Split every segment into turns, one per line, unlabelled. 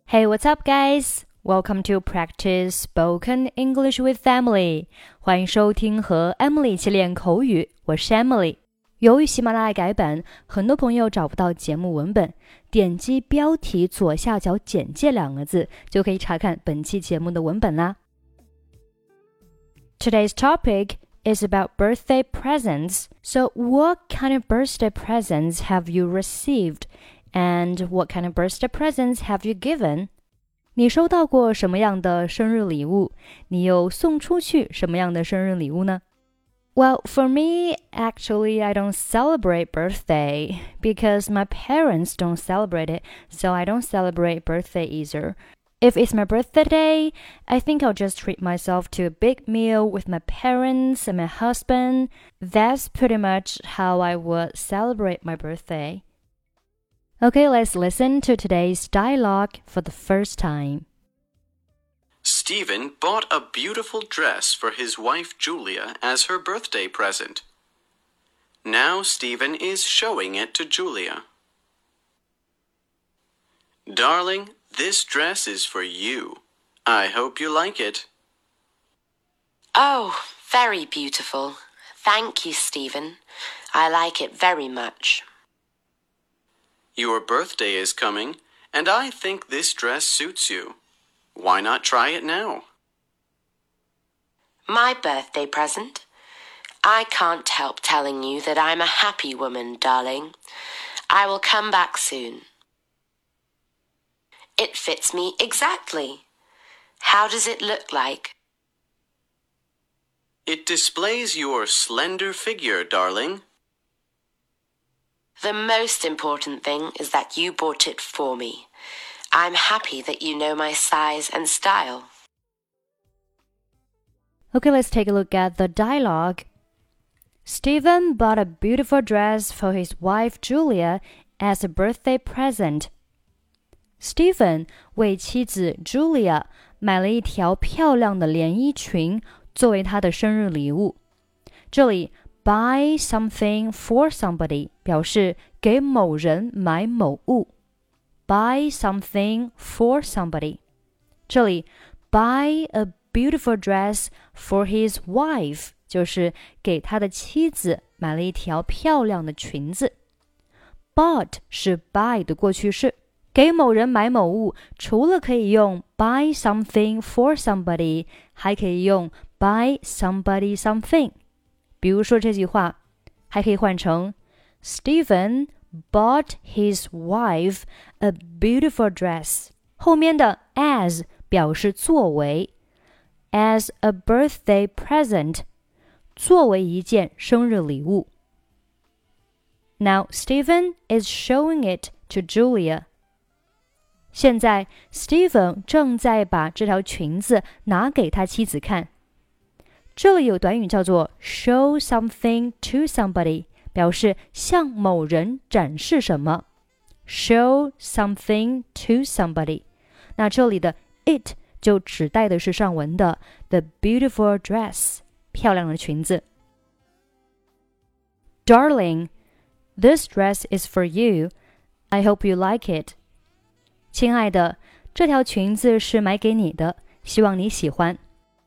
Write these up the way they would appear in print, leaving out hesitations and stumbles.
Hey, what's up, guys? Welcome to practice spoken English with Emily. 欢迎收听和 Emily 一起练口语，我是 Emily。由于喜马拉雅改版，很多朋友找不到节目文本，点击标题左下角简介2个字，就可以查看本期节目的文本啦。Today's topic is about birthday presents. So what kind of birthday presents have you received?And what kind of birthday presents have you given? 你收到过什么样的生日礼物？你又送出去什么样的生日礼物呢？ Well, for me, actually, I don't celebrate birthday because my parents don't celebrate it, so I don't celebrate birthday either. If it's my birthday day, I think I'll just treat myself to a big meal with my parents and my husband. That's pretty much how I would celebrate my birthday.Okay, let's listen to today's dialogue for the first time.
Stephen bought a beautiful dress for his wife Julia as her birthday present. Now Stephen is showing it to Julia. Darling, this dress is for you. I hope you like it.
Oh, very beautiful. Thank you, Stephen. I like it very much.Your
birthday is coming, and I think this dress suits you. Why not try it now?
My birthday present? I can't help telling you that I'm a happy woman, darling. I will come back soon. It fits me exactly. How does it look like?
It displays your slender figure, darling.The
most important thing is that you bought it for me. I'm happy that you know my size and style.
Okay, let's take a look at the dialogue. Stephen bought a beautiful dress for his wife Julia as a birthday present. Stephen 为妻子 Julia 买了一条漂亮的连衣裙作为她的生日礼物。这里Buy something for somebody 表示给某人买某物。Buy something for somebody. 这里 buy a beautiful dress for his wife 就是给他的妻子买了一条漂亮的裙子。Bought 是 buy 的过去式，给某人买某物，除了可以用 buy something for somebody， 还可以用 buy somebody something。比如说这句话还可以换成 Stephen bought his wife a beautiful dress 后面的 as 表示作为 as a birthday present 作为一件生日礼物 Now Stephen is showing it to Julia 现在 Stephen 正在把这条裙子拿给他妻子看这里有短语叫做 show something to somebody 表示向某人展示什么 show something to somebody 那这里的 it 就指代的是上文的 the beautiful dress 漂亮的裙子 Darling, this dress is for you. I hope you like it. 亲爱的，这条裙子是买给你的，希望你喜欢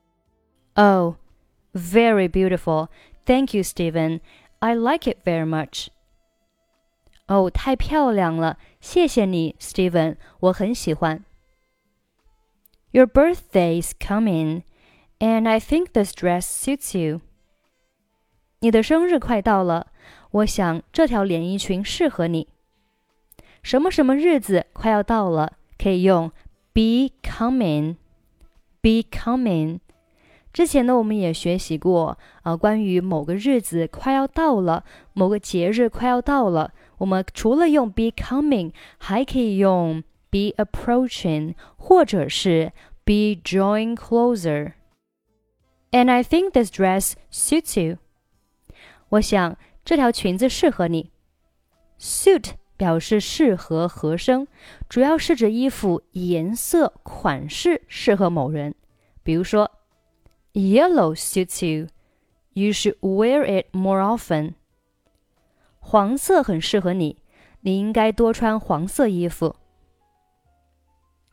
Oh,Very beautiful. Thank you, Stephen. I like it very much. 哦，太漂亮了，谢谢你 Stephen 我很喜欢 Your birthday is coming, and I think this dress suits you. 你的生日快到了，我想这条连衣裙适合你。什么什么日子快要到了，可以用 be coming. Be coming.之前呢，我们也学习过关于某个日子快要到了，某个节日快要到了，我们除了用 be coming， 还可以用 be approaching， 或者是 be drawing closer. And I think this dress suits you. 我想这条裙子适合你。Suit 表示适合、合身，主要是指衣服颜色、款式适合某人。比如说Yellow suits you. You should wear it more often. 黄色很适合你，你应该多穿黄色衣服。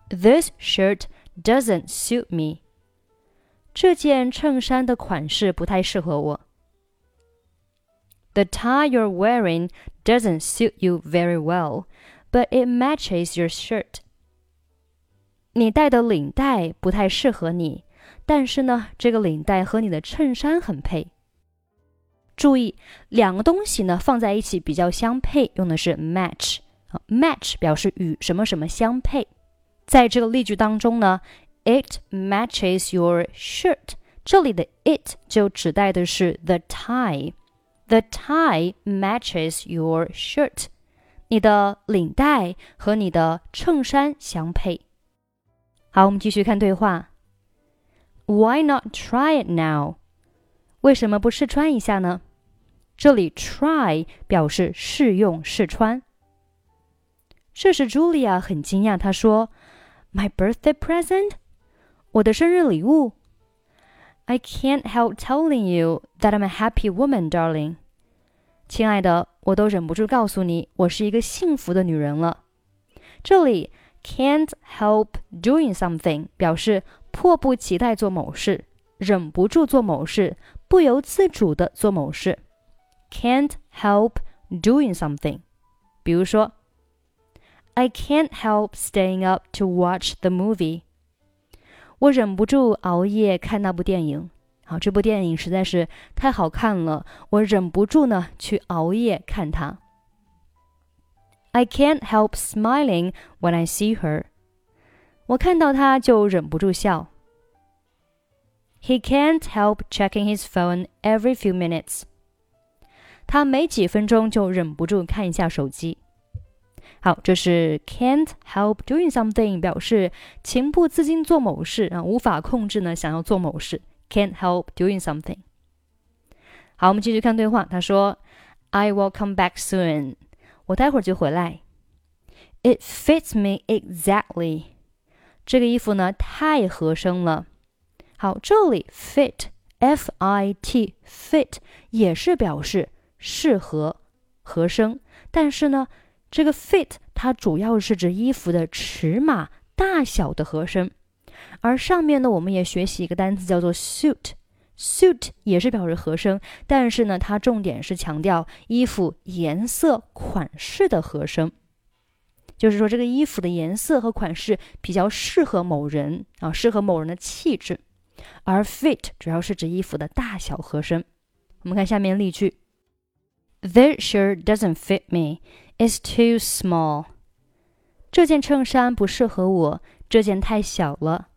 This shirt doesn't suit me. 这件衬衫的款式不太适合我。The tie you're wearing doesn't suit you very well, but it matches your shirt. 你戴的领带不太适合你，但是呢，这个领带和你的衬衫很配。注意，两个东西呢放在一起比较相配，用的是 match。match 表示与什么什么相配。在这个例句当中呢 ，It matches your shirt。这里的 it 就指代的是 the tie。The tie matches your shirt。你的领带和你的衬衫相配。好，我们继续看对话。Why not try it now？ 为什么不试穿一下呢？这里 try 表示试用试穿。这时 Julia 很惊讶，她说 My birthday present？ 我的生日礼物？ I can't help telling you that I'm a happy woman, darling. 亲爱的，我都忍不住告诉你，我是一个幸福的女人了。这里 can't help doing something 表示迫不及待做某事，忍不住做某事，不由自主地做某事。Can't help doing something。比如说 I can't help staying up to watch the movie。 我忍不住熬夜看那部电影。好，这部电影实在是太好看了，我忍不住呢去熬夜看它。I can't help smiling when I see her。 我看到她就忍不住笑。He can't help checking his phone every few minutes。 他每几分钟就忍不住看一下手机。好，这是 can't help doing something 表示情不自禁做某事无法控制呢想要做某事。Can't help doing something。 好，我们继续看对话。他说 I will come back soon。 我待会儿就回来。 It fits me exactly。 这个衣服呢太合身了。好，这里 fit F-I-T fit 也是表示适合合身，但是呢这个 fit 它主要是指衣服的尺码大小的合身。而上面呢我们也学习一个单词叫做 suit。 suit 也是表示合身，但是呢它重点是强调衣服颜色款式的合身，就是说这个衣服的颜色和款式比较适合某人适合某人的气质。而 fit 主要是指衣服的大小合身。我们看下面例句。 This shirt doesn't fit me. It's too small. 这件衬衫不适合我，这件太小了。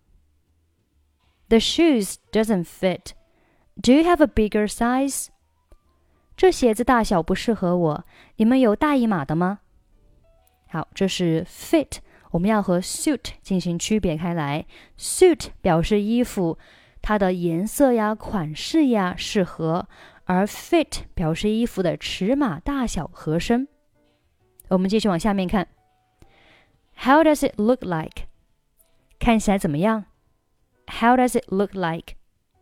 The shoes doesn't fit. Do you have a bigger size? 这鞋子大小不适合我，你们有大一码的吗？好，这是 fit， 我们要和 suit 进行区别开来。suit 表示衣服它的颜色呀、款式呀适合，而 fit 表示衣服的尺码大小合身。我们继续往下面看。 How does it look like? 看起来怎么样？ How does it look like?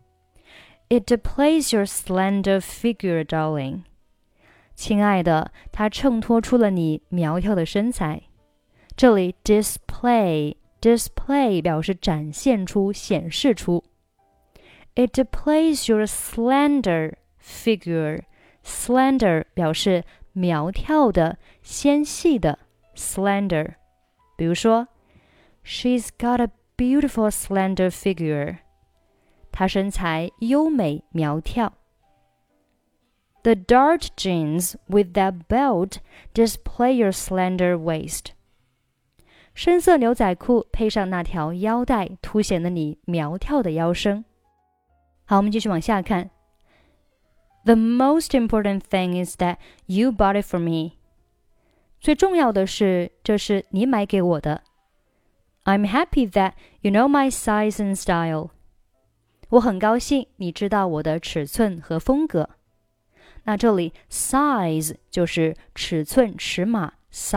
It displays your slender figure, darling. 亲爱的，它衬托出了你苗条的身材。这里 display 表示展现出、显示出。It displays your slender figure. Slender 表示苗条的、纤细的 slender。比如说 She's got a beautiful slender figure. 她身材优美苗条。The dark jeans with that belt display your slender waist. 深色牛仔裤配上那条腰带，凸显了你苗条的腰身。好，我们继续往下看。The most important thing is that you bought it for me. 最重要的是，这是你买给我的。I'm happy that you know my size and style. 我很高兴你知道我的尺寸和风格。那这里 size 就是尺寸、尺码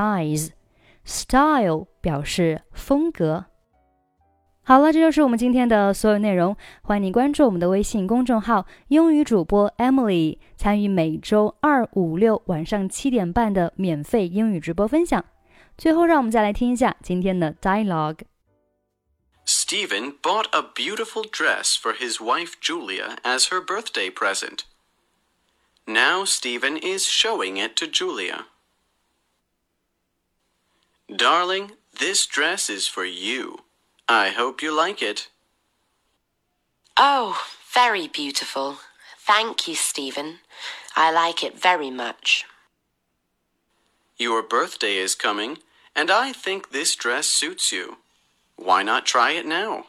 size。style 表示风格。好了，这就是我们今天的所有内容。欢迎你关注我们的微信公众号英语主播 Emily， 参与每周2、5、6晚上7点半的免费英语直播分享。最后让我们再来听一下今天的 dialogue。
Stephen bought a beautiful dress for his wife Julia as her birthday present. Now Stephen is showing it to Julia. Darling, this dress is for you. I hope you like it.
Oh, very beautiful. Thank you, Stephen. I like it very much.
Your birthday is coming, and I think this dress suits you. Why not try it now?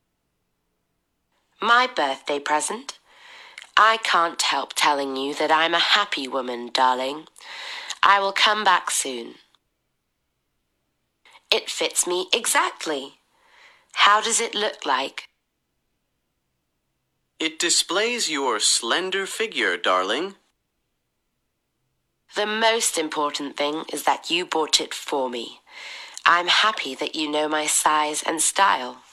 My birthday present? I can't help telling you that I'm a happy woman, darling. I will come back soon. It fits me exactly. How does it look like?
It displays your slender figure, darling.
The most important thing is that you bought it for me. I'm happy that you know my size and style.